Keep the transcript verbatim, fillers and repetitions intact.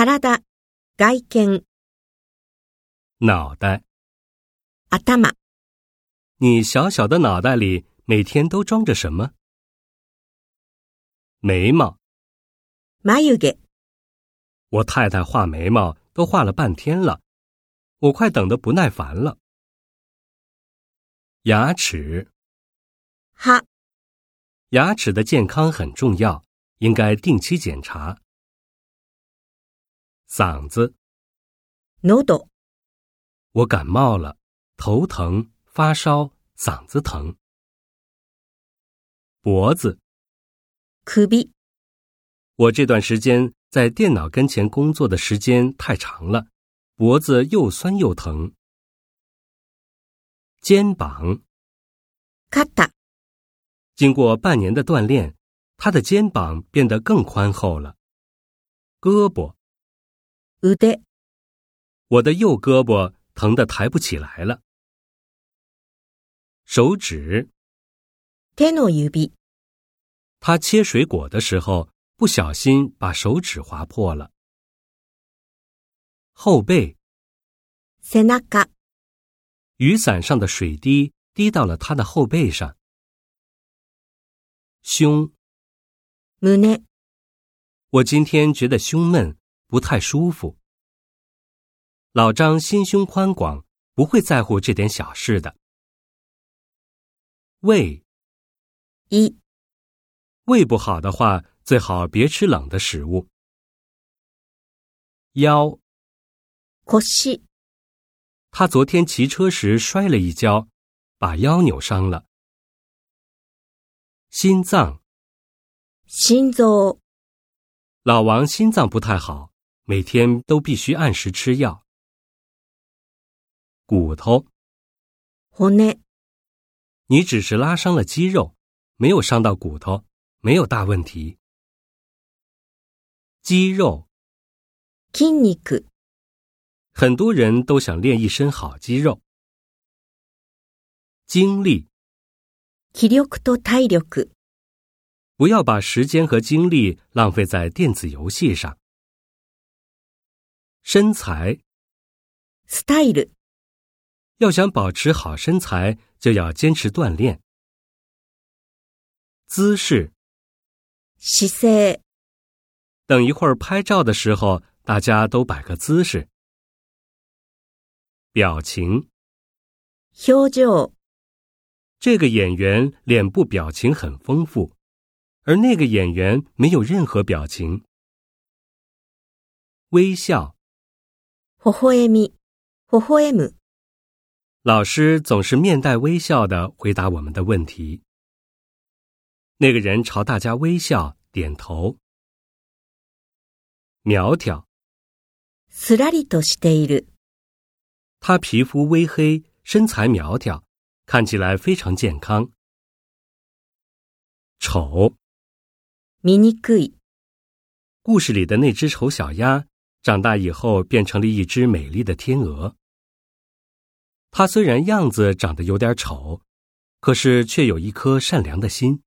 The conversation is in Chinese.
体、外見、 脑袋。 頭、 你小小的脑袋里每天都装着什么？眉毛。 眉毛。 我太太画眉毛都画了半天了，我快等得不耐烦了。牙齿。 歯。 牙齿的健康很重要，应该定期检查。嗓子。 喉。 我感冒了，头疼、发烧、嗓子疼。脖子。 首。 我这段时间在电脑跟前工作的时间太长了，脖子又酸又疼。肩膀。 肩。 经过半年的锻炼，他的肩膀变得更宽厚了。胳膊。 腕。 我的右胳膊疼得抬不起来了。手指。 手の指。 他切水果的时候不小心把手指划破了。后背。 背中。 雨伞上的水滴滴到了他的后背上。胸。 胸。 我今天觉得胸闷，不太舒服。老张心胸宽广，不会在乎这点小事的。胃。 胃。 胃不好的话，最好别吃冷的食物。腰。 腰。 他昨天骑车时摔了一跤，把腰扭伤了。心脏。 心臓。 老王心脏不太好，每天都必须按时吃药。骨头。 骨。 你只是拉伤了肌肉，没有伤到骨头，没有大问题。肌肉。 筋肉。 很多人都想练一身好肌肉。精力。 気力と体力。 不要把时间和精力浪费在电子游戏上。身材。 スタイル。 要想保持好身材，就要坚持锻炼。姿势。 姿勢。 等一会儿拍照的时候，大家都摆个姿势。表情。 表情。 这个演员脸部表情很丰富，而那个演员没有任何表情。微笑。 微笑み。微笑む。 老师总是面带微笑地回答我们的问题。那个人朝大家微笑，点头。苗条。 すらりとしている。 他皮肤微黑，身材苗条，看起来非常健康。丑。 醜い。 故事里的那只丑小鸭，长大以后变成了一只美丽的天鹅。它虽然样子长得有点丑，可是却有一颗善良的心。